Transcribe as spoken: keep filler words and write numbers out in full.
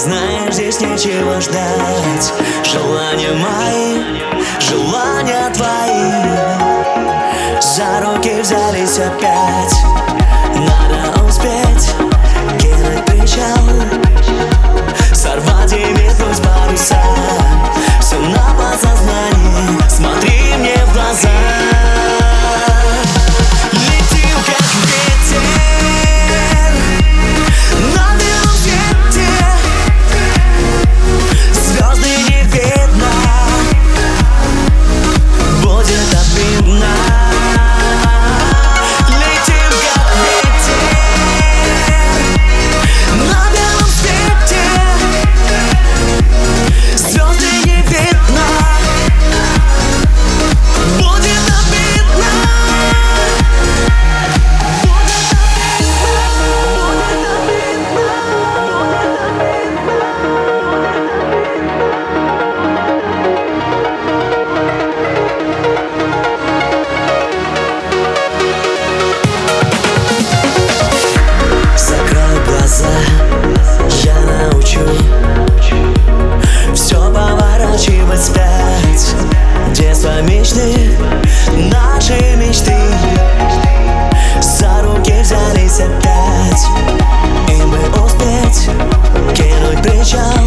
знаешь, здесь нечего ждать. Желания мои, желания твои за руки взялись опять. Надо успеть кинуть причал, сорвать и метнуть паруса. Все на подсознании, смотри мне в глаза. Летим как ветер на белом свете, звезды не видно, будет обидно. Летим как ветер на белом свете, звезды не видно, будет обидно. Закрой глаза, я научу все поворачивать вспять. Детство, мечты, наши мечты за руки взялись опять. И мы успеть кинуть причал,